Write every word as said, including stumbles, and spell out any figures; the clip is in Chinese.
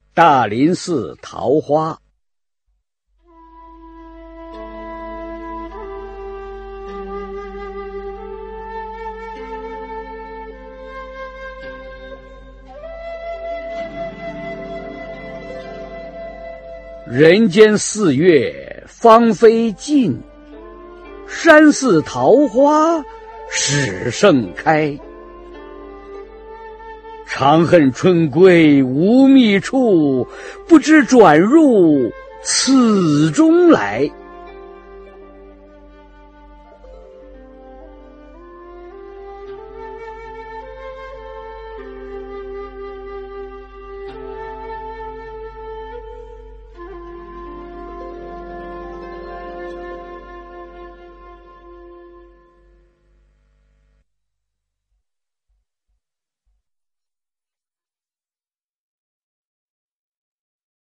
大林寺桃花。人间四月芳菲尽，山寺桃花始盛开。长恨春归无觅处，不知转入此中来。